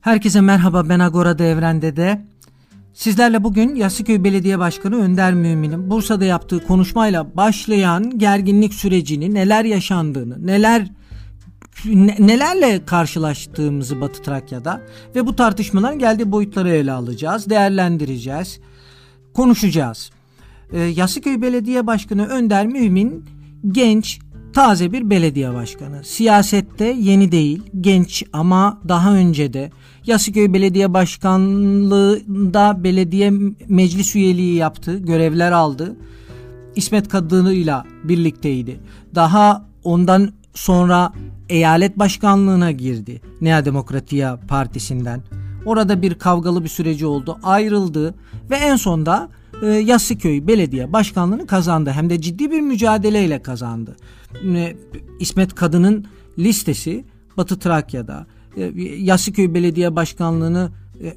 Herkese merhaba, ben Agora'da Evren'de de. Sizlerle bugün Yassıköy Belediye Başkanı Önder Mümin'in Bursa'da yaptığı konuşmayla başlayan gerginlik sürecini, neler yaşandığını, nelerle karşılaştığımızı Batı Trakya'da ve bu tartışmaların geldiği boyutları ele alacağız, değerlendireceğiz, konuşacağız. Yassıköy Belediye Başkanı Önder Mümin genç, taze bir belediye başkanı. Siyasette yeni değil, genç ama daha önce de Yassıköy Belediye Başkanlığı'nda belediye meclis üyeliği yaptı, görevler aldı. İsmet Kadı'yla birlikteydi. Daha ondan sonra eyalet başkanlığına girdi. Nea Demokratia Partisi'nden. Orada bir kavgalı bir süreci oldu, ayrıldı ve en sonda Yassıköy Belediye Başkanlığı'nı kazandı. Hem de ciddi bir mücadeleyle kazandı. İsmet Kadı'nın listesi Batı Trakya'da. Yassıköy Belediye Başkanlığı'nı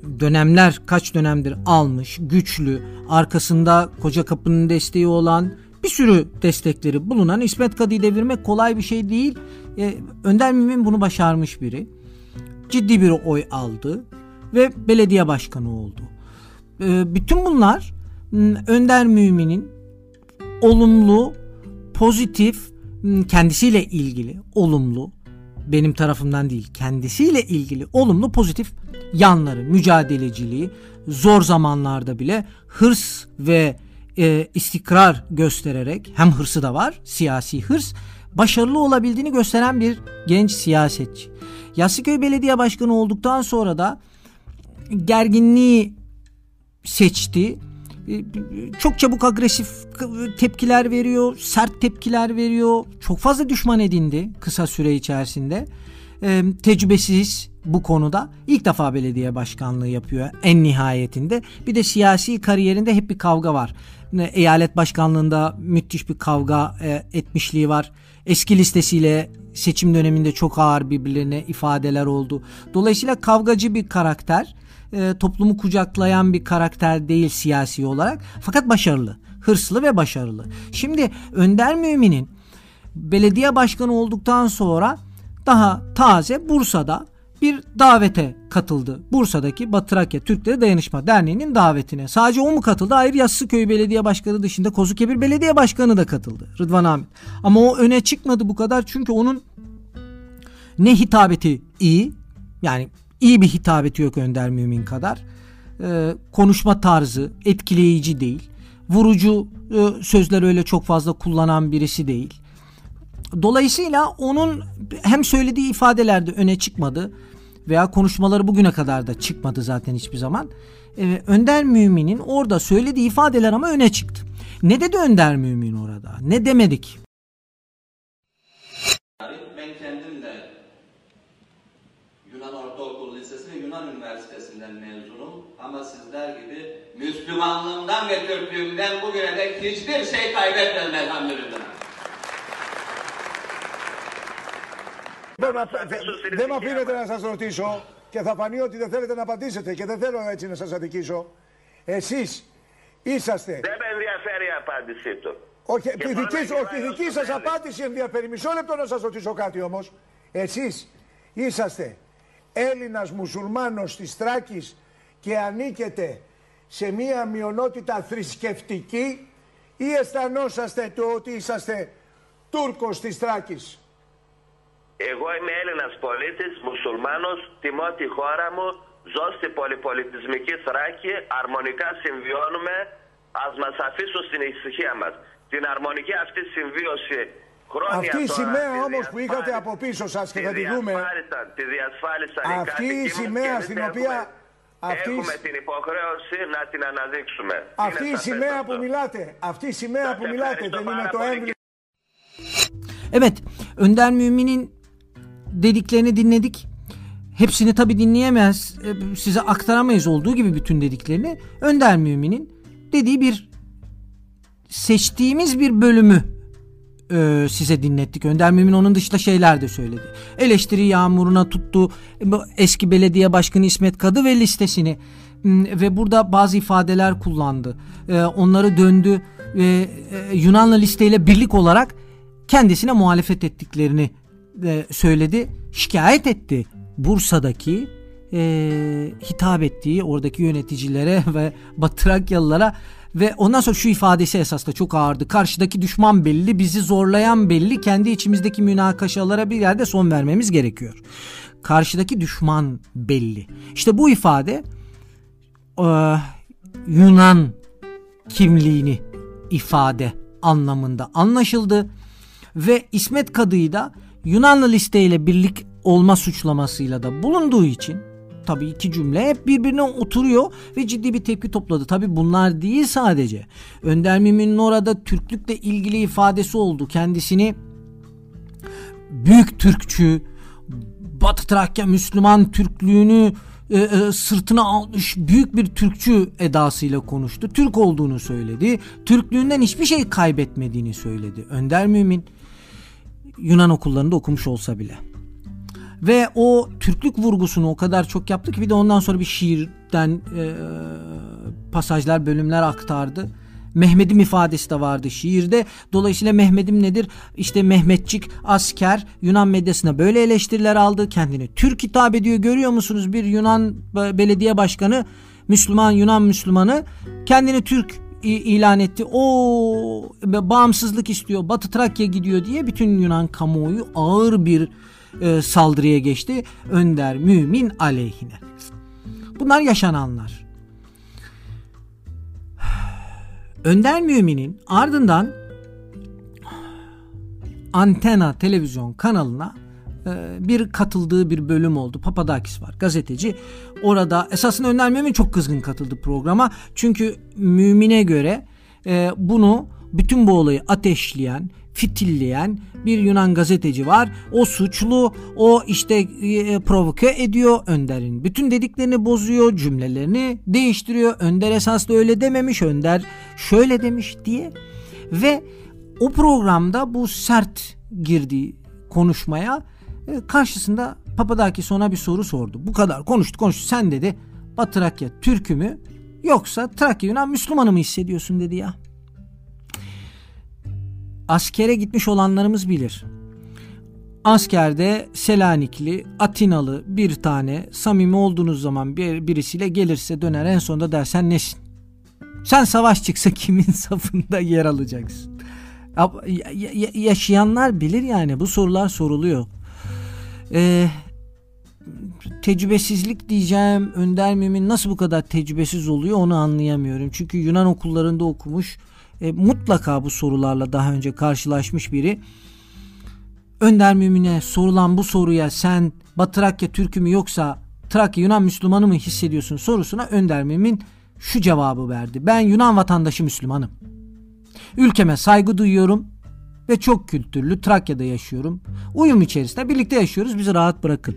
kaç dönemdir almış, güçlü, arkasında Kocakapı'nın desteği olan, bir sürü destekleri bulunan İsmet Kadı'yı devirmek kolay bir şey değil. Önder Mümin bunu başarmış biri. Ciddi bir oy aldı ve belediye başkanı oldu. Bütün bunlar Önder Mümin'in olumlu, pozitif, kendisiyle ilgili olumlu, benim tarafımdan değil, kendisiyle ilgili olumlu, pozitif yanları, mücadeleciliği, zor zamanlarda bile hırs ve istikrar göstererek, hem hırsı da var, siyasi hırs, başarılı olabildiğini gösteren bir genç siyasetçi. Yassıköy Belediye Başkanı olduktan sonra da gerginliği seçti. Çok çabuk agresif tepkiler veriyor, sert tepkiler veriyor. Çok fazla düşman edindi kısa süre içerisinde. Tecrübesiz bu konuda. İlk defa belediye başkanlığı yapıyor en nihayetinde. Bir de siyasi kariyerinde hep bir kavga var. Eyalet başkanlığında müthiş bir kavga etmişliği var. Eski listesiyle seçim döneminde çok ağır birbirlerine ifadeler oldu. Dolayısıyla kavgacı bir karakter. Toplumu kucaklayan bir karakter değil siyasi olarak, fakat başarılı, hırslı ve başarılı. Şimdi Önder Mümin'in belediye başkanı olduktan sonra daha taze Bursa'da bir davete katıldı. Bursa'daki Batı Trakya Türkleri Dayanışma Derneği'nin davetine. Sadece o mu katıldı? Hayır, Yassıköy Belediye Başkanı dışında Kozukebir Belediye Başkanı da katıldı. Rıdvan Ahmet. Ama o öne çıkmadı bu kadar, çünkü onun ne hitabeti iyi, yani İyi bir hitabeti yok Önder Mümin kadar. Konuşma tarzı etkileyici değil. Vurucu sözler öyle çok fazla kullanan birisi değil. Dolayısıyla onun hem söylediği ifadelerde öne çıkmadı veya konuşmaları bugüne kadar da çıkmadı zaten hiçbir zaman. Önder Mümin'in orada söylediği ifadeler ama öne çıktı. Ne dedi Önder Mümin orada? Ne demedik? Ben kendim de Yunan Ortaokulu Lisesi ve Yunan Üniversitesi'nden mezunum. Ama sizler gibi Müslümanlığımdan ve Türklüğümden bugüne dek hiçbir şey kaybetmedim elhamdülillah. Δεν με αφήνετε να σας ρωτήσω και θα φανεί ότι δεν θέλετε να απαντήσετε και δεν θέλω έτσι να σας αδικήσω. Εσείς είσαστε... Δεν με ενδιαφέρει η απάντησή του. Όχι, η δική σας απάντηση ενδιαφέρει. Μισό λεπτό να σας ρωτήσω κάτι όμως. Εσείς είσαστε Έλληνας μουσουλμάνος της Θράκης και ανήκετε σε μία μειονότητα θρησκευτική ή αισθανόσαστε το ότι είσαστε Τούρκος της Θράκης? Εγώ είμαι Έλληνας πολίτης, μουσουλμάνος, τιμώ τη χώρα μου, ζω στην πολυπολιτισμική Θράκη, αρμονικά συμβιώνουμε, ας μας αφήσουν στην ησυχία μας. Την αρμονική αυτή συμβίωση χρόνια αυτή η τώρα, σημαία όμως που είχατε από πίσω σας και θα τη δούμε, τη διασφάλισαν οι αυτή η κάτοικοι σημαία μου, στην οποία έχουμε την υποχρέωση να την αναδείξουμε. Αυτή η σημαία που μιλάτε, αυτή η σημαία που μιλάτε δεν είναι το έμβλημα? Evet, Önder Mümin'in dediklerini dinledik. Hepsini tabii dinleyemez, size aktaramayız olduğu gibi bütün dediklerini. Önder Mümin'in dediği seçtiğimiz bir bölümü size dinlettik. Önder Mümin onun dışında şeyler de söyledi. Eleştiri yağmuruna tuttu eski belediye başkanı İsmet Kadı ve listesini ve burada bazı ifadeler kullandı. Onları döndü ve Yunanlı listeyle birlik olarak kendisine muhalefet ettiklerini söyledi. Şikayet etti Bursa'daki hitap ettiği oradaki yöneticilere ve Batı Trakyalılara ve ondan sonra şu ifadesi esas da çok ağırdı. Karşıdaki düşman belli, bizi zorlayan belli, kendi içimizdeki münakaşalara bir yerde son vermemiz gerekiyor. Karşıdaki düşman belli. İşte bu ifade Yunan kimliğini ifade anlamında anlaşıldı ve İsmet Kadı'yı da Yunanlı listeyle birlik olma suçlamasıyla da bulunduğu için tabii iki cümle hep birbirine oturuyor ve ciddi bir tepki topladı. Tabii bunlar değil sadece. Önder Mümin'in orada Türklükle ilgili ifadesi oldu. Kendisini büyük Türkçü, Batı Trakya Müslüman Türklüğünü sırtına almış büyük bir Türkçü edasıyla konuştu. Türk olduğunu söyledi. Türklüğünden hiçbir şey kaybetmediğini söyledi. Önder Mümin Yunan okullarında okumuş olsa bile. Ve o Türklük vurgusunu o kadar çok yaptı ki bir de ondan sonra bir şiirden pasajlar, bölümler aktardı. Mehmedim ifadesi de vardı şiirde. Dolayısıyla Mehmedim nedir? İşte Mehmetçik, asker, Yunan medyasına böyle eleştiriler aldı. Kendini Türk hitap ediyor. Görüyor musunuz? Bir Yunan belediye başkanı, Müslüman, Yunan Müslümanı kendini Türk ilan etti. O bağımsızlık istiyor. Batı Trakya gidiyor diye bütün Yunan kamuoyu ağır bir saldırıya geçti. Önder Mümin aleyhine. Bunlar yaşananlar. Önder Mümin'in ardından Antena televizyon kanalına bir katıldığı bir bölüm oldu. Papadakis var, gazeteci. Orada esasında Önder Mümin çok kızgın katıldı programa. Çünkü Mümin'e göre bunu, bütün bu olayı ateşleyen, fitilleyen bir Yunan gazeteci var. O suçlu, o işte provoke ediyor. Önder'in bütün dediklerini bozuyor, cümlelerini değiştiriyor. Önder esasında öyle dememiş, Önder şöyle demiş diye. Ve o programda bu sert girdiği konuşmaya karşısında Papadakis ona bir soru sordu. Bu kadar konuştu. Sen dedi Batı Trakya Türk'ü mü yoksa Trakya Yunan Müslümanı mı hissediyorsun dedi ya. Askere gitmiş olanlarımız bilir. Askerde Selanikli, Atinalı bir tane samimi olduğunuz zaman birisiyle gelirse döner en sonunda der sen nesin? Sen savaş çıksa kimin safında yer alacaksın? Yaşayanlar bilir yani, bu sorular soruluyor. Tecrübesizlik diyeceğim. Önder Mümin nasıl bu kadar tecrübesiz oluyor onu anlayamıyorum. Çünkü Yunan okullarında okumuş, mutlaka bu sorularla daha önce karşılaşmış biri. Önder Mümin'e sorulan bu soruya sen Batı Trakya Türk'ü mü yoksa Trakya Yunan Müslümanı mı hissediyorsun sorusuna Önder Mümin şu cevabı verdi. Ben Yunan vatandaşı Müslümanım. Ülkeme saygı duyuyorum ve çok kültürlü Trakya'da yaşıyorum. Uyum içerisinde birlikte yaşıyoruz, bizi rahat bırakın.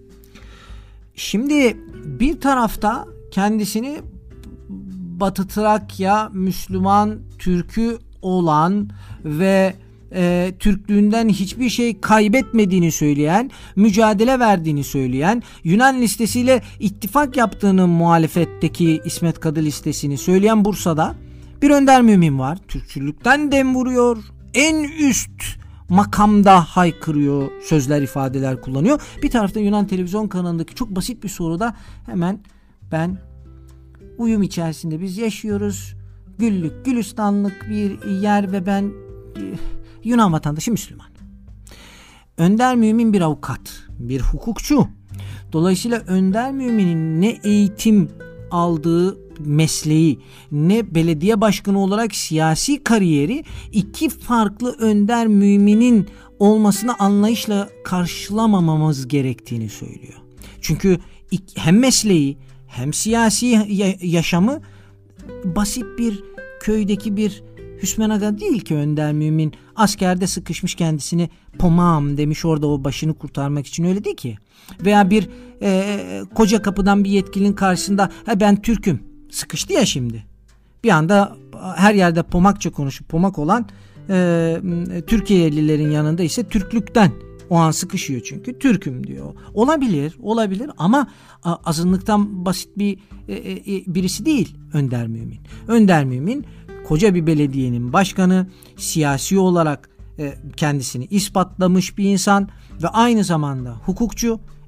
Şimdi bir tarafta kendisini Batı Trakya Müslüman Türk'ü olan ve Türklüğünden hiçbir şey kaybetmediğini söyleyen, mücadele verdiğini söyleyen, Yunan listesiyle ittifak yaptığını, muhalefetteki İsmet Kadı listesini söyleyen Bursa'da bir Önder Mümin var. Türkçülükten dem vuruyor. En üst makamda haykırıyor, sözler, ifadeler kullanıyor. Bir tarafta Yunan televizyon kanalındaki çok basit bir soruda hemen ben uyum içerisinde biz yaşıyoruz. Güllük, gülistanlık bir yer ve ben Yunan vatandaşı Müslüman. Önder Mümin bir avukat, bir hukukçu. Dolayısıyla Önder Mümin'in ne eğitim aldığı mesleği, ne belediye başkanı olarak siyasi kariyeri iki farklı Önder Mümin'in olmasını anlayışla karşılamamamız gerektiğini söylüyor. Çünkü hem mesleği hem siyasi yaşamı basit bir köydeki bir Hüsmen Aga değil ki Önder Mümin. Askerde sıkışmış, kendisini pomağım demiş orada o başını kurtarmak için, öyle değil ki. Veya bir koca kapıdan bir yetkilinin karşısında ben Türk'üm sıkıştı ya şimdi. Bir anda her yerde pomakça konuşup pomak olan Türkiye'lilerin yanında ise Türklükten o an sıkışıyor çünkü Türk'üm diyor. Olabilir ama azınlıktan basit birisi değil Önder Mümin. Önder Mümin koca bir belediyenin başkanı, siyasi olarak kendisini ispatlamış bir insan ve aynı zamanda hukukçu,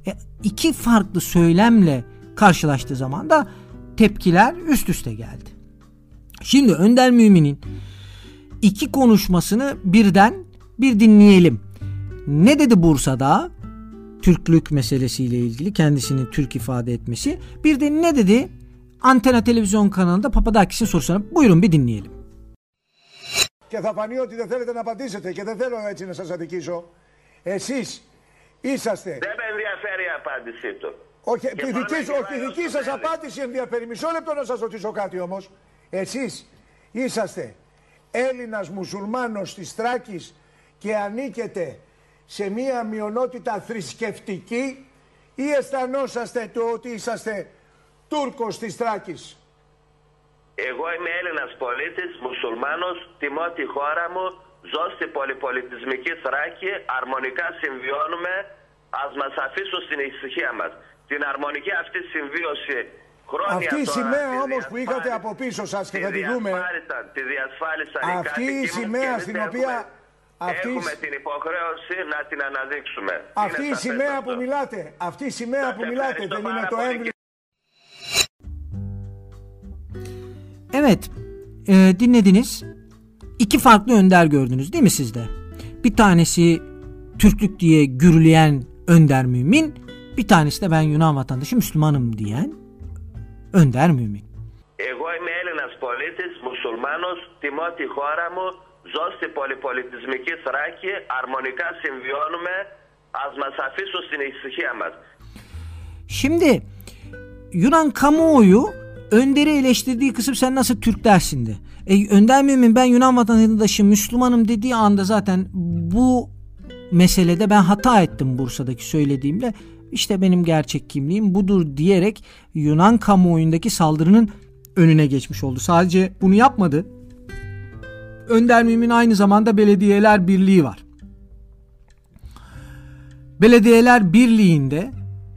İki farklı söylemle karşılaştığı zaman da tepkiler üst üste geldi. Şimdi Önder Mümin'in iki konuşmasını birden bir dinleyelim. Ne dedi Bursa'da? Türklük meselesiyle ilgili kendisini Türk ifade etmesi. Bir de ne dedi Antena televizyon kanalında Papadakis'in sorusuna. Buyurun bir dinleyelim. Και θα φανεί ότι δεν θέλετε να απαντήσετε και δεν θέλω έτσι να σας αδικήσω. Εσείς είσαστε... Δεν με ενδιαφέρει η απάντησή του. Όχι, η δική σας απάντηση ενδιαφέρει. Μισό λεπτό να σας ρωτήσω κάτι όμως. Εσείς είσαστε Έλληνας μουσουλμάνος της Θράκης και ανήκετε σε μία μειονότητα θρησκευτική ή αισθανόσαστε το ότι είσαστε Τούρκος της Θράκης? Εγώ είμαι Έλληνας πολίτης, μουσουλμάνος, τιμώ τη χώρα μου, ζω στην πολυπολιτισμική Θράκη, αρμονικά συμβιώνουμε, ας μας αφήσουν στην ησυχία μας. Την αρμονική αυτή συμβίωση χρόνια αυτή η τώρα, σημαία όμως που είχατε από πίσω σας και θα τη δούμε, τη διασφάλισαν οι αυτή η κάτοικοι σημαία μας, στην οποία... Έχουμε την υποχρέωση να την αναδείξουμε. Αυτή η σημαία που μιλάτε, αυτή η σημαία που μιλάτε δεν είναι το έμβλημα? Evet, dinlediniz. İki farklı önder gördünüz değil mi siz de? Bir tanesi Türklük diye gürleyen Önder Mümin, bir tanesi de ben Yunan vatandaşı Müslümanım diyen Önder Mümin. Εγώ είμαι Έλληνας πολίτης, μουσουλμάνος, τιμώ τη χώρα μου, ζω στην πολυπολιτισμική Θράκη, αρμονικά συμβιώνουμε, ας μας αφήσουν στην ησυχία μας. Şimdi Yunan kamuoyu Önder'i eleştirdiği kısım sen nasıl Türk dersin de. Önder Mümin ben Yunan vatandaşı Müslümanım dediği anda zaten bu meselede ben hata ettim Bursa'daki söylediğimle. İşte benim gerçek kimliğim budur diyerek Yunan kamuoyundaki saldırının önüne geçmiş oldu. Sadece bunu yapmadı. Önder Mümin aynı zamanda Belediyeler Birliği var. Belediyeler Birliği'nde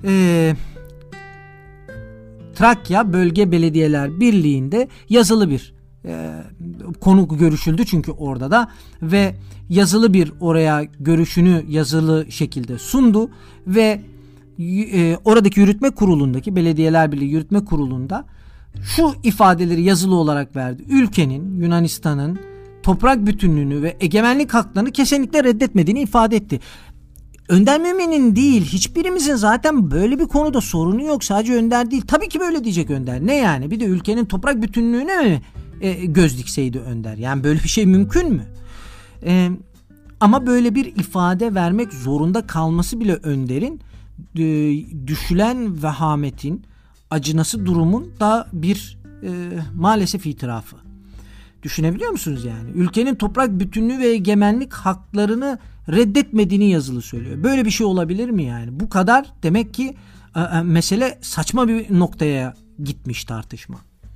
Trakya Bölge Belediyeler Birliği'nde yazılı bir konu görüşüldü çünkü orada da ve yazılı bir oraya görüşünü yazılı şekilde sundu ve oradaki yürütme kurulundaki Belediyeler Birliği Yürütme Kurulu'nda şu ifadeleri yazılı olarak verdi. Ülkenin, Yunanistan'ın toprak bütünlüğünü ve egemenlik haklarını kesinlikle reddetmediğini ifade etti. Önder Mümin'in değil, hiçbirimizin zaten böyle bir konuda sorunu yok. Sadece Önder değil. Tabii ki böyle diyecek Önder. Ne yani? Bir de ülkenin toprak bütünlüğüne mi göz dikseydi Önder? Yani böyle bir şey mümkün mü? Ama böyle bir ifade vermek zorunda kalması bile Önder'in düşülen vehametin, acınası durumun da bir maalesef itirafı. Düşünebiliyor musunuz yani? Ülkenin toprak bütünlüğü ve egemenlik haklarını reddetmediğini yazılı söylüyor. Böyle bir şey olabilir mi yani? Bu kadar demek ki mesele saçma bir noktaya gitmiş tartışma.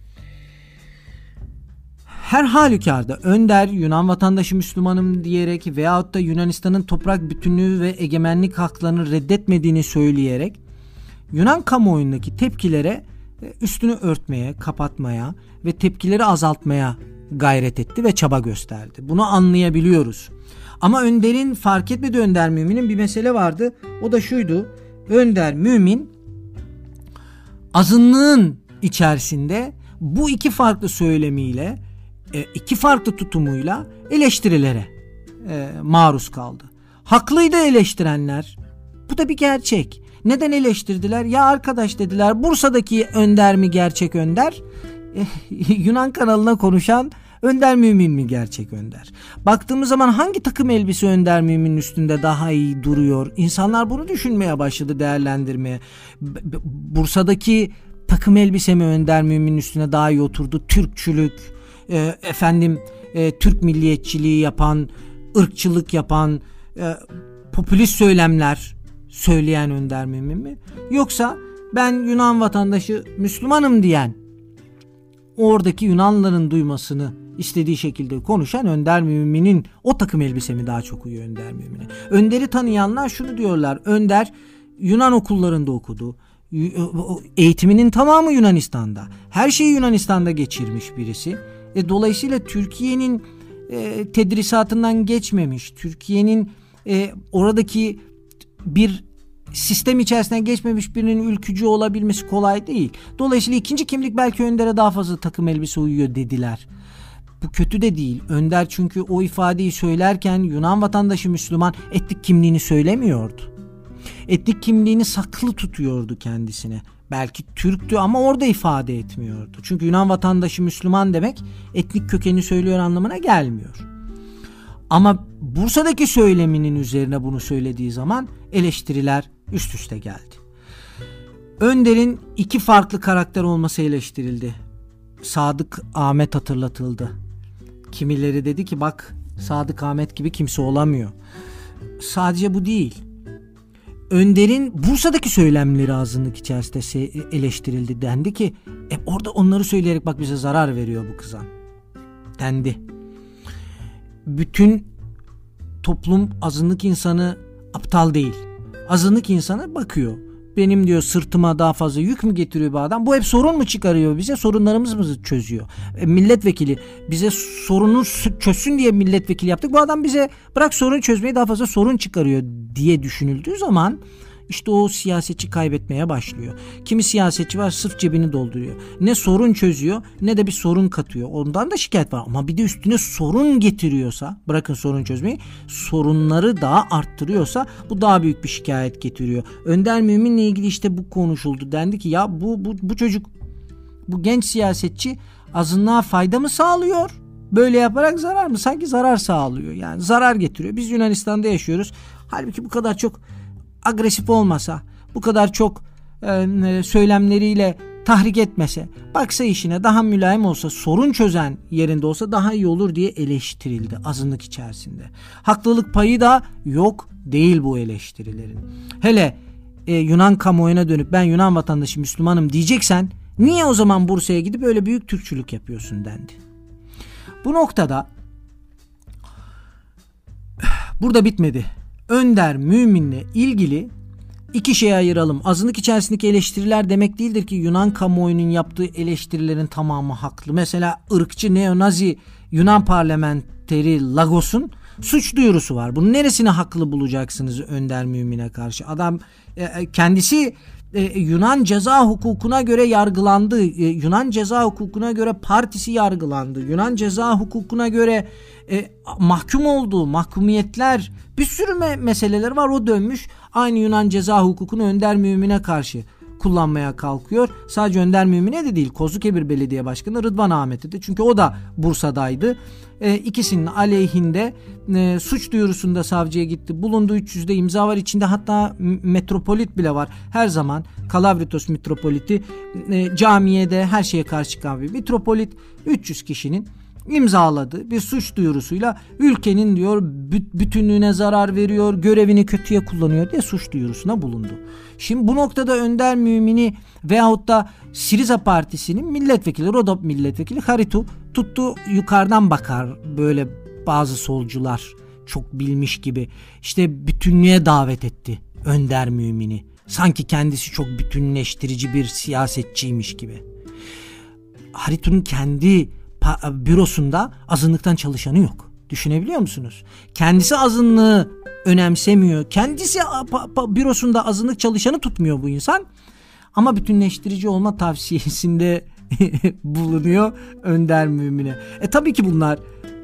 Her halükarda Önder Yunan vatandaşı Müslümanım diyerek veyahut da Yunanistan'ın toprak bütünlüğü ve egemenlik haklarını reddetmediğini söyleyerek Yunan kamuoyundaki tepkilere üstünü örtmeye, kapatmaya ve tepkileri azaltmaya gayret etti ve çaba gösterdi. Bunu anlayabiliyoruz. Ama Önder'in fark etmediği Önder Mümin'in bir mesele vardı. O da şuydu. Önder Mümin azınlığın içerisinde bu iki farklı söylemiyle, iki farklı tutumuyla eleştirilere maruz kaldı. Haklıydı eleştirenler. Bu da bir gerçek. Neden eleştirdiler? Ya arkadaş dediler, Bursa'daki Önder mi gerçek Önder? Yunan kanalına konuşan Önder Mümin mi gerçek Önder? Baktığımız zaman hangi takım elbise Önder Mümin'in üstünde daha iyi duruyor? İnsanlar bunu düşünmeye başladı, değerlendirmeye. Bursa'daki takım elbise mi Önder Mümin'in üstüne daha iyi oturdu? Türkçülük, Türk milliyetçiliği yapan, ırkçılık yapan, popülist söylemler söyleyen Önder Mümin mi? Yoksa ben Yunan vatandaşı Müslümanım diyen, oradaki Yunanlıların duymasını istediği şekilde konuşan Önder Mümin'in o takım elbise mi daha çok uyuyor Önder Mümin'e? Önder'i tanıyanlar şunu diyorlar. Önder Yunan okullarında okudu. Eğitiminin tamamı Yunanistan'da. Her şeyi Yunanistan'da geçirmiş birisi. Dolayısıyla Türkiye'nin tedrisatından geçmemiş. Türkiye'nin oradaki bir sistem içerisinden geçmemiş birinin ülkücü olabilmesi kolay değil. Dolayısıyla ikinci kimlik belki Önder'e daha fazla takım elbise uyuyor dediler. Bu kötü de değil. Önder çünkü o ifadeyi söylerken Yunan vatandaşı Müslüman etnik kimliğini söylemiyordu. Etnik kimliğini saklı tutuyordu kendisine. Belki Türktü ama orada ifade etmiyordu. Çünkü Yunan vatandaşı Müslüman demek etnik kökeni söylüyor anlamına gelmiyor. Ama Bursa'daki söyleminin üzerine bunu söylediği zaman eleştiriler üst üste geldi. Önder'in iki farklı karakter olması eleştirildi. Sadık Ahmet hatırlatıldı. Kimileri dedi ki bak Sadık Ahmet gibi kimse olamıyor. Sadece bu değil. Önder'in Bursa'daki söylemleri azınlık içerisinde eleştirildi. Dendi ki orada onları söyleyerek bak bize zarar veriyor bu kızan. Dendi. Bütün toplum azınlık insanı aptal değil. Azınlık insanı bakıyor. Benim diyor sırtıma daha fazla yük mü getiriyor bu adam? Bu hep sorun mu çıkarıyor bize? Sorunlarımızı mı çözüyor? Milletvekili bize sorunu çözsün diye milletvekili yaptık. Bu adam bize bırak sorun çözmeyi daha fazla sorun çıkarıyor diye düşünüldüğü zaman işte o siyasetçi kaybetmeye başlıyor. Kimi siyasetçi var sırf cebini dolduruyor. Ne sorun çözüyor ne de bir sorun katıyor. Ondan da şikayet var ama bir de üstüne sorun getiriyorsa, bırakın sorun çözmeyi, sorunları daha arttırıyorsa bu daha büyük bir şikayet getiriyor. Önder Mümin'le ilgili işte bu konuşuldu. Dendi ki ya bu çocuk, bu genç siyasetçi azınlığa fayda mı sağlıyor? Böyle yaparak zarar mı? Sanki zarar sağlıyor. Yani zarar getiriyor. Biz Yunanistan'da yaşıyoruz. Halbuki bu kadar çok agresif olmasa, bu kadar çok söylemleriyle tahrik etmese, baksa işine daha mülayim olsa, sorun çözen yerinde olsa daha iyi olur diye eleştirildi azınlık içerisinde. Haklılık payı da yok değil bu eleştirilerin. Hele Yunan kamuoyuna dönüp ben Yunan vatandaşı Müslümanım diyeceksen niye o zaman Bursa'ya gidip öyle büyük Türkçülük yapıyorsun dendi. Bu noktada burada bitmedi. Önder Mümin'le ilgili iki şeye ayıralım. Azınlık içerisindeki eleştiriler demek değildir ki Yunan kamuoyunun yaptığı eleştirilerin tamamı haklı. Mesela ırkçı neonazi Yunan parlamenteri Lagos'un suç duyurusu var. Bunun neresini haklı bulacaksınız Önder Mümin'e karşı? Adam kendisi Yunan ceza hukukuna göre yargılandı. Yunan ceza hukukuna göre partisi yargılandı. Yunan ceza hukukuna göre mahkum olduğu mahkumiyetler, bir sürü meseleler var. O dönmüş aynı Yunan ceza hukukunu Önder Mümin'e karşı kullanmaya kalkıyor. Sadece Önder Mümin'e de değil, Kozlukebir Belediye Başkanı Rıdvan Ahmet'e de, çünkü o da Bursa'daydı. İkisinin aleyhinde suç duyurusunda savcıya gitti. Bulunduğu 300'de imza var. İçinde hatta metropolit bile var. Her zaman Kalavritos metropoliti camiye de her şeye karşı çıkan bir metropolit 300 kişinin imzaladığı bir suç duyurusuyla ülkenin diyor bütünlüğüne zarar veriyor, görevini kötüye kullanıyor diye suç duyurusuna bulundu. Şimdi bu noktada Önder Mümin'i veyahut da Siriza Partisi'nin milletvekili, Rodop milletvekili Haritu tuttu yukarıdan bakar, böyle bazı solcular çok bilmiş gibi işte bütünlüğe davet etti Önder Mümin'i. Sanki kendisi çok bütünleştirici bir siyasetçiymiş gibi. Haritu'nun kendi bürosunda azınlıktan çalışanı yok. Düşünebiliyor musunuz? Kendisi azınlığı önemsemiyor. Kendisi bürosunda azınlık çalışanı tutmuyor bu insan. Ama bütünleştirici olma tavsiyesinde bulunuyor Önder Mümin'e. Tabii ki bunlar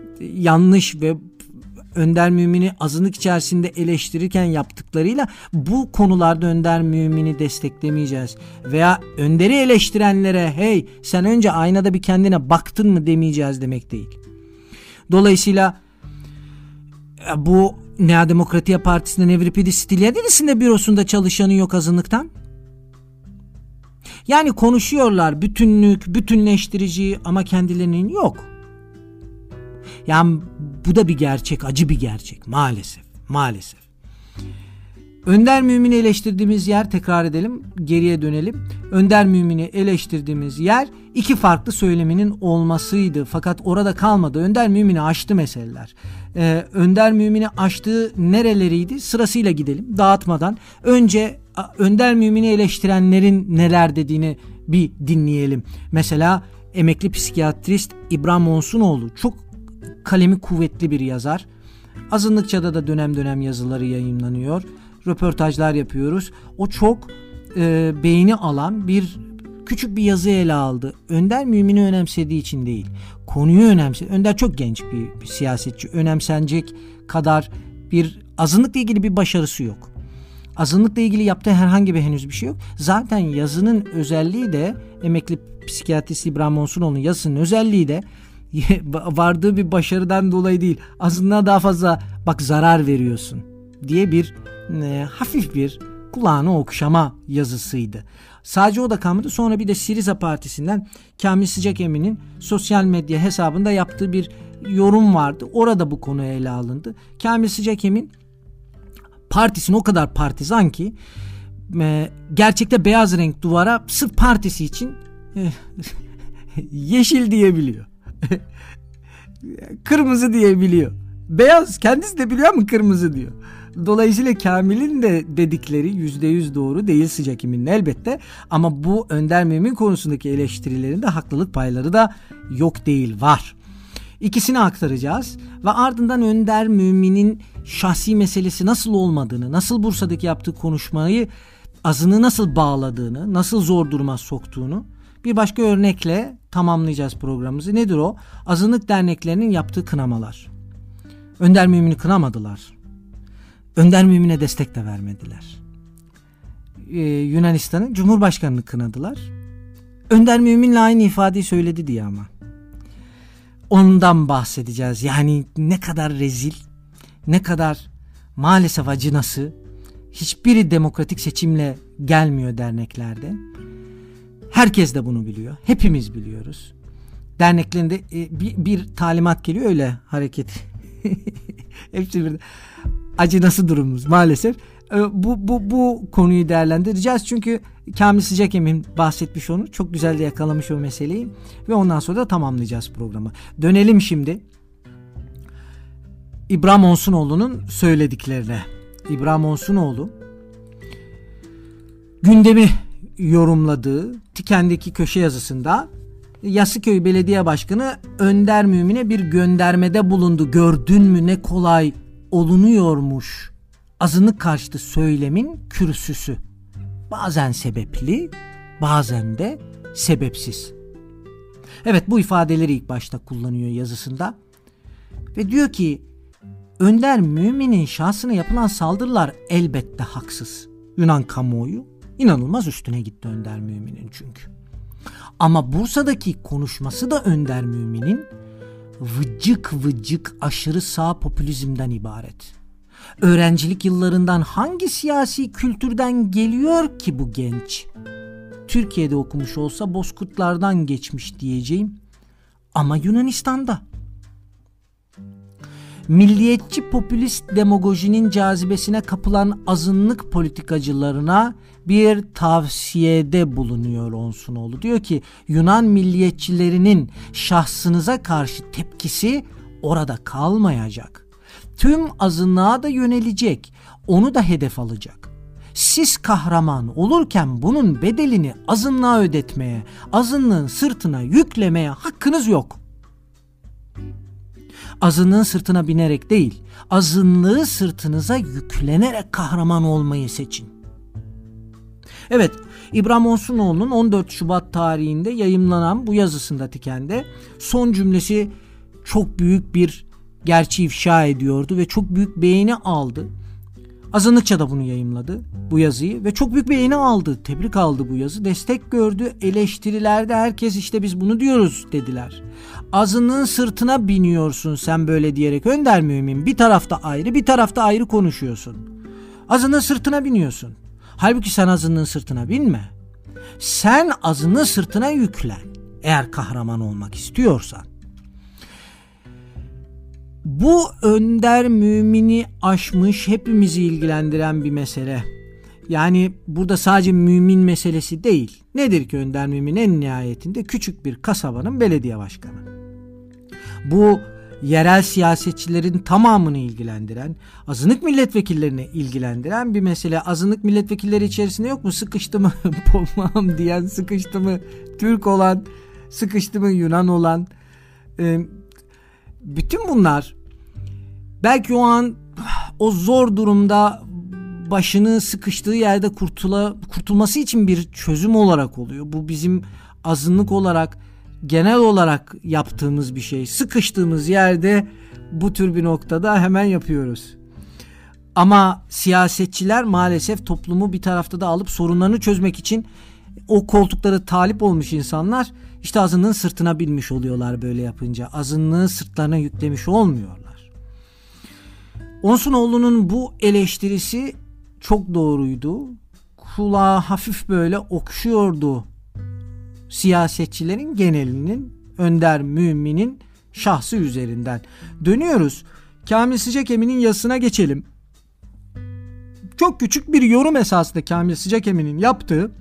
yanlış ve Önder Mümin'i azınlık içerisinde eleştirirken yaptıklarıyla bu konularda Önder Mümin'i desteklemeyeceğiz. Veya Önder'i eleştirenlere hey sen önce aynada bir kendine baktın mı demeyeceğiz demek değil. Dolayısıyla bu Nea Demokratia Partisi'nin Evripidis Stylianidis'in de bürosunda çalışanı yok azınlıktan. Yani konuşuyorlar bütünlük, bütünleştirici ama kendilerinin yok. Yani bu da bir gerçek, acı bir gerçek maalesef. Önder Mümin'i eleştirdiğimiz yer, tekrar edelim, geriye dönelim. Önder Mümin'i eleştirdiğimiz yer iki farklı söyleminin olmasıydı. Fakat orada kalmadı. Önder Mümin'i aştı meseleler. Önder Mümin'i aştığı nereleriydi? Sırasıyla gidelim dağıtmadan. Önce Önder Mümin'i eleştirenlerin neler dediğini bir dinleyelim. Mesela emekli psikiyatrist İbrahim Monsunoğlu çok kalemi kuvvetli bir yazar. Azınlıkça'da da dönem dönem yazıları yayımlanıyor. röportajlar yapıyoruz. O çok beğeni alan küçük bir yazı ele aldı. Önder Mümin'i önemsediği için değil, konuyu önemsedi. Önder çok genç bir siyasetçi. Önemsenecek kadar azınlıkla ilgili bir başarısı yok. Azınlıkla ilgili yaptığı herhangi henüz bir şey yok. Zaten yazının özelliği de, emekli psikiyatrist İbrahim Onsunoğlu'nun yazısının özelliği de vardığı bir başarıdan dolayı değil. Azınlığa daha fazla zarar veriyorsun diye hafif bir kulağını okşama yazısıydı. Sadece o da kalmadı. Sonra bir de Siriza Partisi'nden Kamil Sıcakemin'in sosyal medya hesabında yaptığı bir yorum vardı. Orada bu konu ele alındı. Kamil Sıcakemin partisini o kadar partizan ki gerçekte beyaz renk duvara sırf partisi için yeşil diyebiliyor. Kırmızı diyebiliyor. Beyaz kendisi de biliyor ama kırmızı diyor. Dolayısıyla Kamil'in de dedikleri %100 doğru değil Sıcakemin'in elbette. Ama bu Önder Mümin konusundaki eleştirilerinde haklılık payları da yok değil, var. İkisini aktaracağız ve ardından Önder Mümin'in şahsi meselesi nasıl olmadığını, nasıl Bursa'daki yaptığı konuşmayı azını nasıl bağladığını, nasıl zor duruma soktuğunu bir başka örnekle tamamlayacağız programımızı. Nedir o? Azınlık derneklerinin yaptığı kınamalar. Önder Mümin'i kınamadılar. Önder Mümin'e destek de vermediler. Yunanistan'ın Cumhurbaşkanı'nı kınadılar. Önder Mümin'le aynı ifadeyi söyledi diye ama. Ondan bahsedeceğiz. Yani ne kadar rezil, ne kadar maalesef acınası. Hiçbiri demokratik seçimle gelmiyor derneklerde. Herkes de bunu biliyor. Hepimiz biliyoruz. Derneklerinde bir talimat geliyor, öyle hareket. Hepsi bir acınası durumumuz maalesef. Bu konuyu değerlendireceğiz. Çünkü Kamil Sıcakemin bahsetmiş onu. Çok güzel de yakalamış o meseleyi. Ve ondan sonra da tamamlayacağız programı. Dönelim şimdi İbrahim Onsunoğlu'nun söylediklerine. İbrahim Onsunoğlu gündemi yorumladığı Tiken'deki köşe yazısında Yassıköy Belediye Başkanı Önder Mümin'e bir göndermede bulundu. Gördün mü ne kolay olunuyormuş. Azınlık karşıtı söylemin kürsüsü. Bazen sebepli, bazen de sebepsiz. Evet, bu ifadeleri ilk başta kullanıyor yazısında. Ve diyor ki Önder Mümin'in şahsına yapılan saldırılar elbette haksız. Yunan kamuoyu inanılmaz üstüne gitti Önder Mümin'in çünkü. Ama Bursa'daki konuşması da Önder Mümin'in vıcık vıcık aşırı sağ popülizmden ibaret. Öğrencilik yıllarından hangi siyasi kültürden geliyor ki bu genç? Türkiye'de okumuş olsa Bozkurtlardan geçmiş diyeceğim. Ama Yunanistan'da. Milliyetçi popülist demagojinin cazibesine kapılan azınlık politikacılarına bir tavsiyede bulunuyor Onsunoğlu. Diyor ki Yunan milliyetçilerinin şahsınıza karşı tepkisi orada kalmayacak. Tüm azınlığa da yönelecek. Onu da hedef alacak. Siz kahraman olurken bunun bedelini azınlığa ödetmeye, azınlığın sırtına yüklemeye hakkınız yok. Azınlığın sırtına binerek değil, azınlığı sırtınıza yüklenerek kahraman olmayı seçin. Evet, İbrahim Onsunoğlu'nun 14 Şubat tarihinde yayımlanan bu yazısında Tiken'de son cümlesi çok büyük bir gerçeği ifşa ediyordu ve çok büyük beğeni aldı. Azınlıkça da bunu yayımladı, bu yazıyı, ve çok büyük beğeni aldı, tebrik aldı bu yazı, destek gördü. Eleştirilerde herkes işte biz bunu diyoruz dediler. Azınlığın sırtına biniyorsun sen böyle diyerek Önder Mümin, bir tarafta ayrı bir tarafta ayrı konuşuyorsun. Azınlığın sırtına biniyorsun. Halbuki sen azınlığın sırtına binme. Sen azınlığın sırtına yüklen eğer kahraman olmak istiyorsan. Bu Önder Mümin'i aşmış, hepimizi ilgilendiren bir mesele. Yani burada sadece mümin meselesi değil. Nedir ki Önder Mümin en nihayetinde küçük bir kasabanın belediye başkanı. Bu yerel siyasetçilerin tamamını ilgilendiren, azınlık milletvekillerini ilgilendiren bir mesele. Azınlık milletvekilleri içerisinde yok mu sıkıştı mı Pomam diyen, sıkıştı mı Türk olan, sıkıştı mı Yunan olan, bütün bunlar belki o an o zor durumda başını sıkıştığı yerde kurtulması için bir çözüm olarak oluyor. Bu bizim azınlık olarak, genel olarak yaptığımız bir şey. Sıkıştığımız yerde bu tür bir noktada hemen yapıyoruz. Ama siyasetçiler maalesef toplumu bir tarafta da alıp sorunlarını çözmek için o koltuklara talip olmuş insanlar işte azınlığın sırtına binmiş oluyorlar böyle yapınca. Azınlığı sırtlarına yüklemiş olmuyorlar. Onsunoğlu'nun bu eleştirisi çok doğruydu. Kulağa hafif böyle okşuyordu siyasetçilerin genelinin, Önder Mümin'in şahsı üzerinden. Dönüyoruz. Kamil Sıcakemini'nin yazısına geçelim. Çok küçük bir yorum esasında Kamil Sıcakemini'nin yaptığı.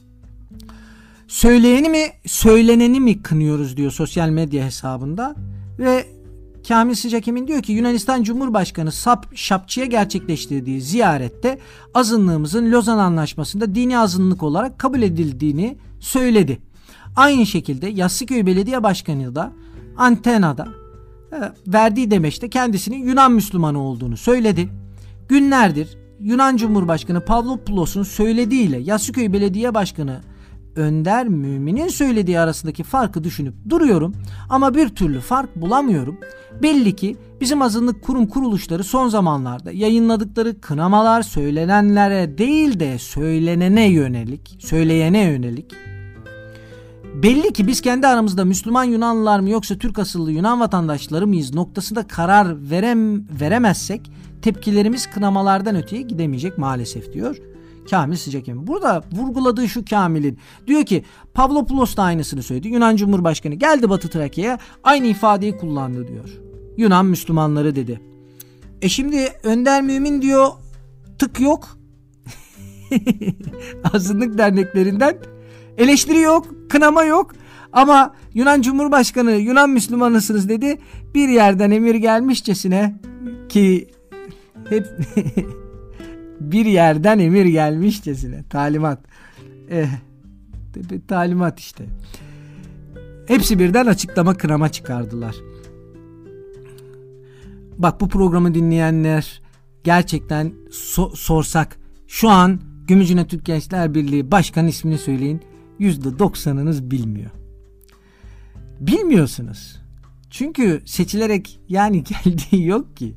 Söyleneni mi kınıyoruz diyor sosyal medya hesabında ve Kamil Sıcakemin diyor ki Yunanistan Cumhurbaşkanı Şapçı'ya gerçekleştirdiği ziyarette azınlığımızın Lozan Anlaşması'nda dini azınlık olarak kabul edildiğini söyledi. Aynı şekilde Yassıköy Belediye Başkanı da Antena'da verdiği demeçte kendisinin Yunan Müslümanı olduğunu söyledi. Günlerdir Yunan Cumhurbaşkanı Pavlopoulos'un söylediğiyle Yassıköy Belediye Başkanı Önder Mümin'in söylediği arasındaki farkı düşünüp duruyorum ama bir türlü fark bulamıyorum. Belli ki bizim azınlık kurum kuruluşları son zamanlarda yayınladıkları kınamalar söylenenlere değil de söyleyene yönelik. Belli ki biz kendi aramızda Müslüman Yunanlılar mı yoksa Türk asıllı Yunan vatandaşları mıyız noktasında karar veremezsek tepkilerimiz kınamalardan öteye gidemeyecek maalesef diyor Kamil Sıcakemin. Burada vurguladığı şu Kamil'in diyor ki Pavlopoulos da aynısını söyledi. Yunan Cumhurbaşkanı geldi Batı Trakya'ya aynı ifadeyi kullandı diyor. Yunan Müslümanları dedi. Şimdi Önder Mümin diyor tık yok. Azınlık derneklerinden eleştiri yok, kınama yok. Ama Yunan Cumhurbaşkanı Yunan Müslümanısınız dedi. Bir yerden emir gelmişçesine ki hep bir yerden emir gelmişçesine talimat. Talimat işte. Hepsi birden açıklama kınama çıkardılar. Bak bu programı dinleyenler gerçekten sorsak şu an Gümüşhane Türk Gençler Birliği Başkanı ismini söyleyin. %90'ınız bilmiyor. Bilmiyorsunuz. Çünkü seçilerek yani geldiği yok ki.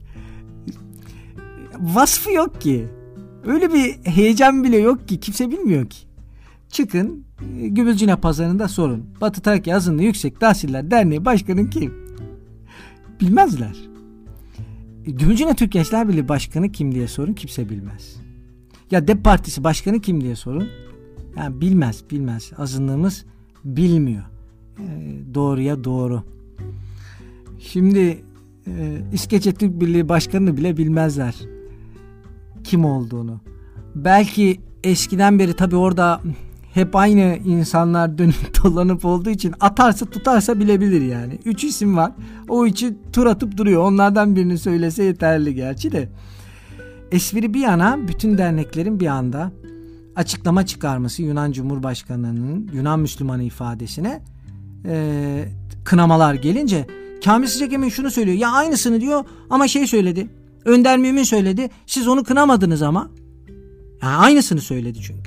Vasfı yok ki. Öyle bir heyecan bile yok ki. Kimse bilmiyor ki. Çıkın Gümüşhane pazarında sorun. Batı Trakya Azınlığı Yüksek Tahsiller Derneği Başkanı kim? Bilmezler. Gümüşhane Türk Gençler Birliği Başkanı kim diye sorun. Kimse bilmez. Ya DEP Partisi Başkanı kim diye sorun. Yani bilmez. Azınlığımız bilmiyor. Doğruya doğru. Şimdi İskeçe Türk Birliği Başkanı'nı bile bilmezler. Kim olduğunu. Belki eskiden beri tabii orada hep aynı insanlar dönüp dolanıp olduğu için atarsa tutarsa bilebilir yani. 3 isim var. O için tur atıp duruyor. Onlardan birini söylese yeterli gerçi de. Espri bir yana bütün derneklerin bir anda açıklama çıkarması Yunan Cumhurbaşkanı'nın Yunan Müslümanı ifadesine kınamalar gelince Kamil Sıcakemin şunu söylüyor. Ya aynısını diyor ama söyledi. Önder Mümin söyledi. Siz onu kınamadınız ama. Yani aynısını söyledi çünkü.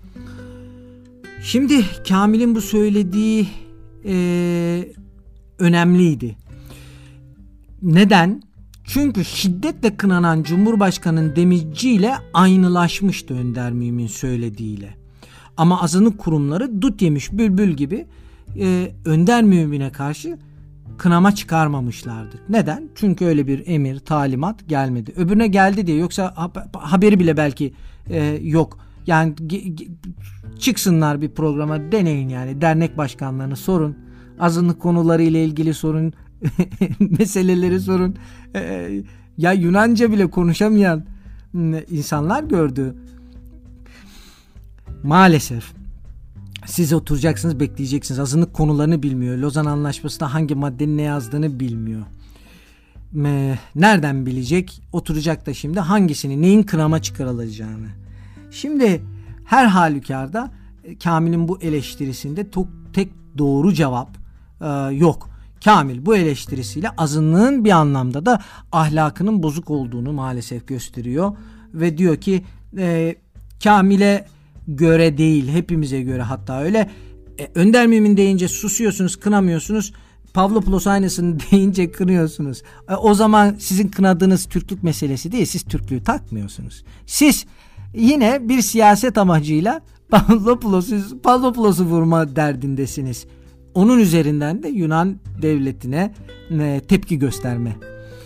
Şimdi Kamil'in bu söylediği önemliydi. Neden? Çünkü şiddetle kınanan Cumhurbaşkanı'nın demeciyle aynılaşmıştı Önder Mümin söylediğiyle. Ama azınlık kurumları dut yemiş bülbül gibi Önder Mümin'e karşı kınama çıkarmamışlardı. Neden? Çünkü öyle bir emir, talimat gelmedi. Öbürüne geldi diye yoksa haberi bile belki yok. Yani çıksınlar bir programa deneyin yani dernek başkanlarını sorun. Azınlık konuları ile ilgili sorun. Meseleleri sorun. Ya Yunanca bile konuşamayan insanlar gördü. Maalesef. Siz oturacaksınız, bekleyeceksiniz. Azınlık konularını bilmiyor. Lozan Anlaşması'nda hangi maddenin ne yazdığını bilmiyor. Nereden bilecek? Oturacak da şimdi hangisini, neyin kınama çıkarılacağını. Şimdi her halükarda Kamil'in bu eleştirisinde tek doğru cevap yok. Kamil bu eleştirisiyle azınlığın bir anlamda da ahlakının bozuk olduğunu maalesef gösteriyor ve diyor ki Kamil'e göre değil, hepimize göre hatta öyle. Önder Mümin deyince susuyorsunuz, kınamıyorsunuz. Pavlopoulos aynısını deyince kınıyorsunuz. O zaman sizin kınadığınız Türklük meselesi değil, siz Türklüğü takmıyorsunuz. Siz yine bir siyaset amacıyla Pavlopoulos'u vurma derdindesiniz. Onun üzerinden de Yunan devletine tepki gösterme.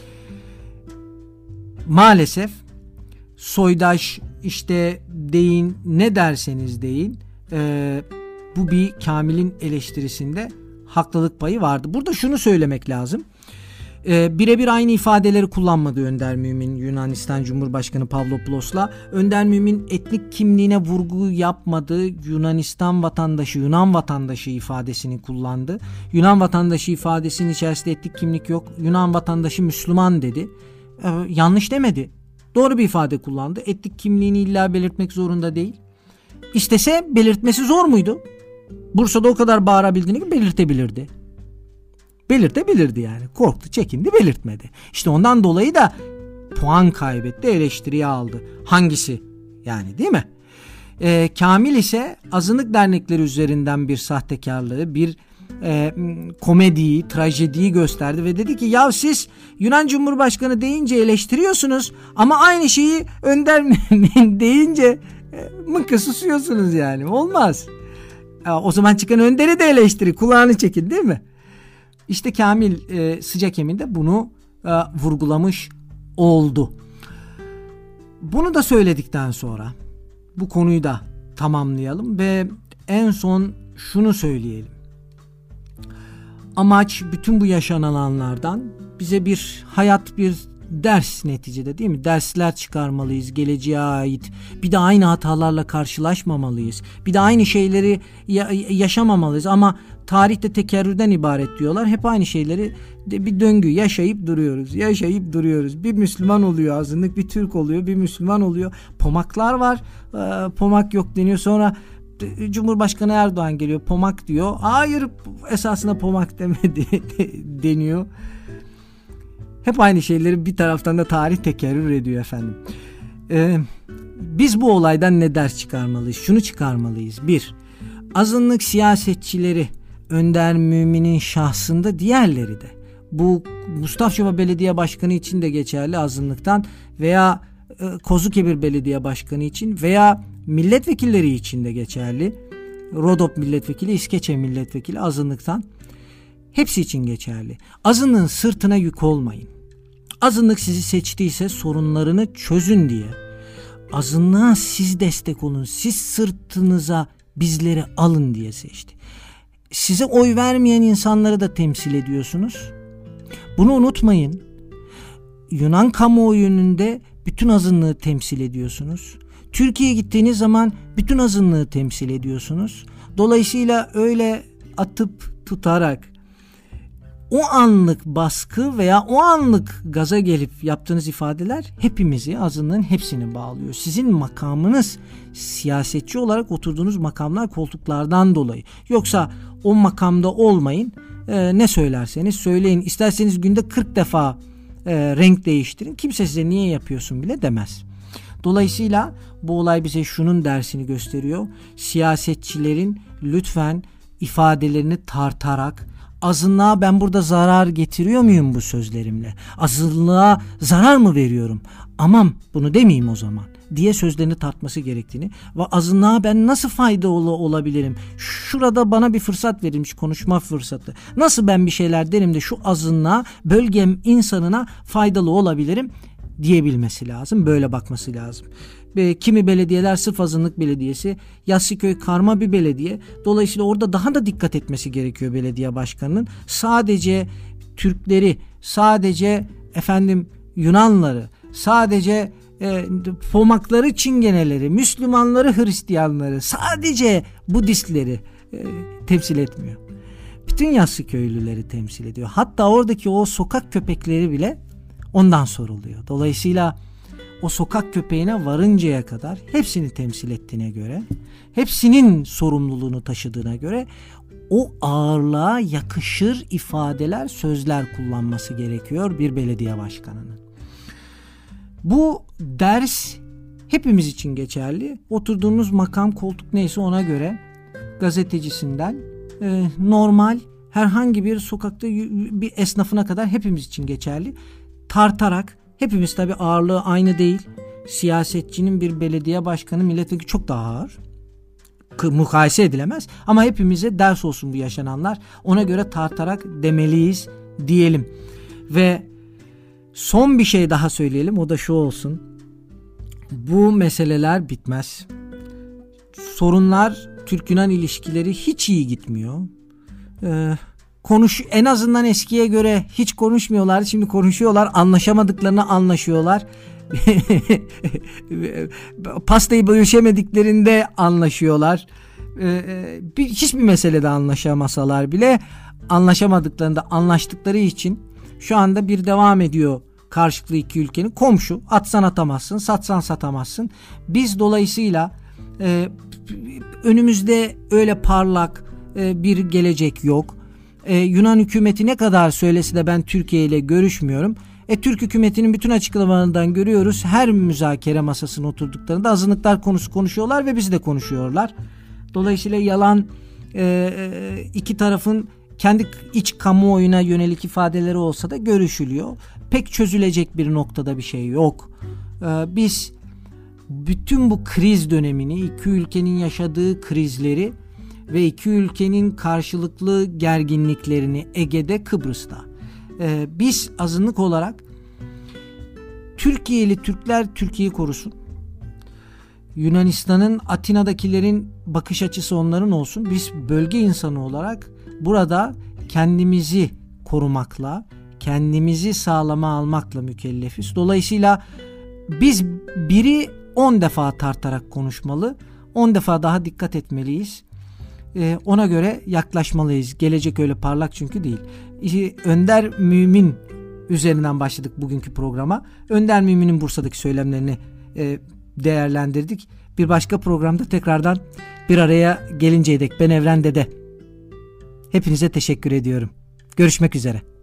Maalesef soydaş işte deyin, ne derseniz deyin, bu bir Kamil'in eleştirisinde haklılık payı vardı. Burada şunu söylemek lazım. Birebir aynı ifadeleri kullanmadı Önder Mümin Yunanistan Cumhurbaşkanı Pavlopoulos'la. Önder Mümin etnik kimliğine vurgu yapmadı. Yunanistan vatandaşı, Yunan vatandaşı ifadesini kullandı. Yunan vatandaşı ifadesinin içerisinde etnik kimlik yok. Yunan vatandaşı Müslüman dedi. Yanlış demedi. Doğru bir ifade kullandı. Etnik kimliğini illa belirtmek zorunda değil. İstese belirtmesi zor muydu? Bursa'da o kadar bağırabildiğini gibi belirtebilirdi. Belirtebilirdi yani. Korktu, çekindi, belirtmedi. İşte ondan dolayı da puan kaybetti, eleştiriyi aldı. Hangisi? Yani değil mi? Kamil ise azınlık dernekleri üzerinden bir sahtekarlığı, bir komediyi, trajediyi gösterdi ve dedi ki ya siz Yunan Cumhurbaşkanı deyince eleştiriyorsunuz ama aynı şeyi Önder Mümin deyince mınkı susuyorsunuz yani. Olmaz. O zaman çıkan Önder'i de eleştiri, kulağını çekin değil mi? İşte Kamil sıcak yemin de bunu vurgulamış oldu. Bunu da söyledikten sonra bu konuyu da tamamlayalım ve en son şunu söyleyelim. Amaç bütün bu yaşananlardan bize bir hayat, bir ders neticede değil mi? Dersler çıkarmalıyız geleceğe ait. Bir de aynı hatalarla karşılaşmamalıyız. Bir de aynı şeyleri yaşamamalıyız ama tarihte tekerrürden ibaret diyorlar. Hep aynı şeyleri bir döngü yaşayıp duruyoruz. Bir Müslüman oluyor azınlık, bir Türk oluyor, bir Müslüman oluyor. Pomaklar var. Pomak yok deniyor. Sonra Cumhurbaşkanı Erdoğan geliyor, pomak diyor. Hayır, esasında pomak demedi deniyor. Hep aynı şeyleri bir taraftan da tarih tekerrür ediyor efendim. Biz bu olaydan ne ders çıkarmalıyız? Şunu çıkarmalıyız. 1. Azınlık siyasetçileri, Önder Mümin'in şahsında diğerleri de. Bu Mustafçova Belediye Başkanı için de geçerli azınlıktan veya Kozukebir Belediye Başkanı için veya milletvekilleri için de geçerli. Rodop milletvekili, İskeçe milletvekili azınlıktan. Hepsi için geçerli. Azınlığın sırtına yük olmayın. Azınlık sizi seçtiyse sorunlarını çözün diye. Azınlığa siz destek olun. Siz sırtınıza bizleri alın diye seçti. Size oy vermeyen insanları da temsil ediyorsunuz. Bunu unutmayın. Yunan kamuoyunun da bütün azınlığı temsil ediyorsunuz. Türkiye'ye gittiğiniz zaman bütün azınlığı temsil ediyorsunuz. Dolayısıyla öyle atıp tutarak o anlık baskı veya o anlık gaza gelip yaptığınız ifadeler hepimizi, azınlığın hepsini bağlıyor. Sizin makamınız siyasetçi olarak oturduğunuz makamlar, koltuklardan dolayı. Yoksa o makamda olmayın, ne söylerseniz söyleyin. İsterseniz günde 40 defa renk değiştirin. Kimse size niye yapıyorsun bile demez. Dolayısıyla bu olay bize şunun dersini gösteriyor. Siyasetçilerin lütfen ifadelerini tartarak, azınlığa ben burada zarar getiriyor muyum bu sözlerimle? Azınlığa zarar mı veriyorum? Aman bunu demeyeyim o zaman diye sözlerini tartması gerektiğini ve azınlığa ben nasıl faydalı olabilirim? Şurada bana bir fırsat verilmiş, konuşma fırsatı. Nasıl ben bir şeyler derim de şu azınlığa, bölgem insanına faydalı olabilirim diyebilmesi lazım. Böyle bakması lazım. Kimi belediyeler sırf azınlık belediyesi, Yassıköy karma bir belediye. Dolayısıyla orada daha da dikkat etmesi gerekiyor belediye başkanının. Sadece Türkleri, sadece Yunanları, sadece Pomakları, Çingeneleri, Müslümanları, Hristiyanları, sadece Budistleri temsil etmiyor. Bütün Yassıköylüleri temsil ediyor. Hatta oradaki o sokak köpekleri bile ondan soruluyor. Dolayısıyla o sokak köpeğine varıncaya kadar hepsini temsil ettiğine göre, hepsinin sorumluluğunu taşıdığına göre o ağırlığa yakışır ifadeler, sözler kullanması gerekiyor bir belediye başkanının. Bu ders hepimiz için geçerli. Oturduğunuz makam, koltuk neyse ona göre gazetecisinden normal herhangi bir sokakta bir esnafına kadar hepimiz için geçerli. Tartarak, hepimiz tabii ağırlığı aynı değil. Siyasetçinin bir belediye başkanı, milletvekili çok daha ağır. Mukayese edilemez. Ama hepimize ders olsun bu yaşananlar. Ona göre tartarak demeliyiz diyelim. Ve son bir şey daha söyleyelim. O da şu olsun. Bu meseleler bitmez. Sorunlar, Türk-Yunan ilişkileri hiç iyi gitmiyor. En azından eskiye göre hiç konuşmuyorlar. Şimdi konuşuyorlar. Anlaşamadıklarını anlaşıyorlar. Pastayı bölüşemediklerinde anlaşıyorlar. Hiçbir meselede anlaşamasalar bile anlaşamadıklarında anlaştıkları için şu anda bir devam ediyor karşılıklı iki ülkenin. Komşu, atsan atamazsın, satsan satamazsın. Biz dolayısıyla önümüzde öyle parlak bir gelecek yok. Yunan hükümeti ne kadar söylese de ben Türkiye ile görüşmüyorum. Türk hükümetinin bütün açıklamalarından görüyoruz. Her müzakere masasına oturduklarında azınlıklar konusu konuşuyorlar ve bizi de konuşuyorlar. Dolayısıyla yalan iki tarafın kendi iç kamuoyuna yönelik ifadeleri olsa da görüşülüyor. Pek çözülecek bir noktada bir şey yok. Biz bütün bu kriz dönemini, iki ülkenin yaşadığı krizleri ve iki ülkenin karşılıklı gerginliklerini Ege'de, Kıbrıs'ta biz azınlık olarak Türkiye'li Türkler Türkiye'yi korusun. Yunanistan'ın, Atina'dakilerin bakış açısı onların olsun. Biz bölge insanı olarak burada kendimizi korumakla, kendimizi sağlama almakla mükellefiz. Dolayısıyla biz biri 10 defa tartarak konuşmalı, 10 defa daha dikkat etmeliyiz. Ona göre yaklaşmalıyız. Gelecek öyle parlak çünkü değil. Önder Mümin üzerinden başladık bugünkü programa. Önder Mümin'in Bursa'daki söylemlerini değerlendirdik. Bir başka programda tekrardan bir araya gelinceye dek ben Evren Dede. Hepinize teşekkür ediyorum. Görüşmek üzere.